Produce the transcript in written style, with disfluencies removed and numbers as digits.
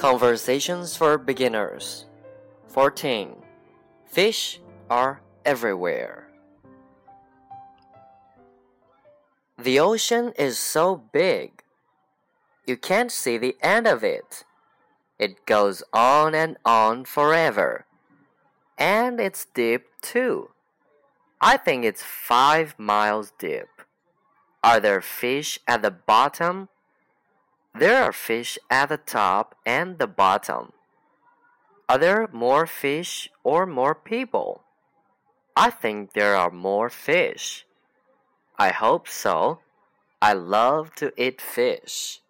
Conversations for Beginners 14. Fish are everywhere. The ocean is so big. You can't see the end of it. It goes on and on forever. And it's deep too. I think it's 5 miles deep. Are there fish at the bottom? There are fish at the top and the bottom. Are there more fish or more people? I think there are more fish. I hope so. I love to eat fish.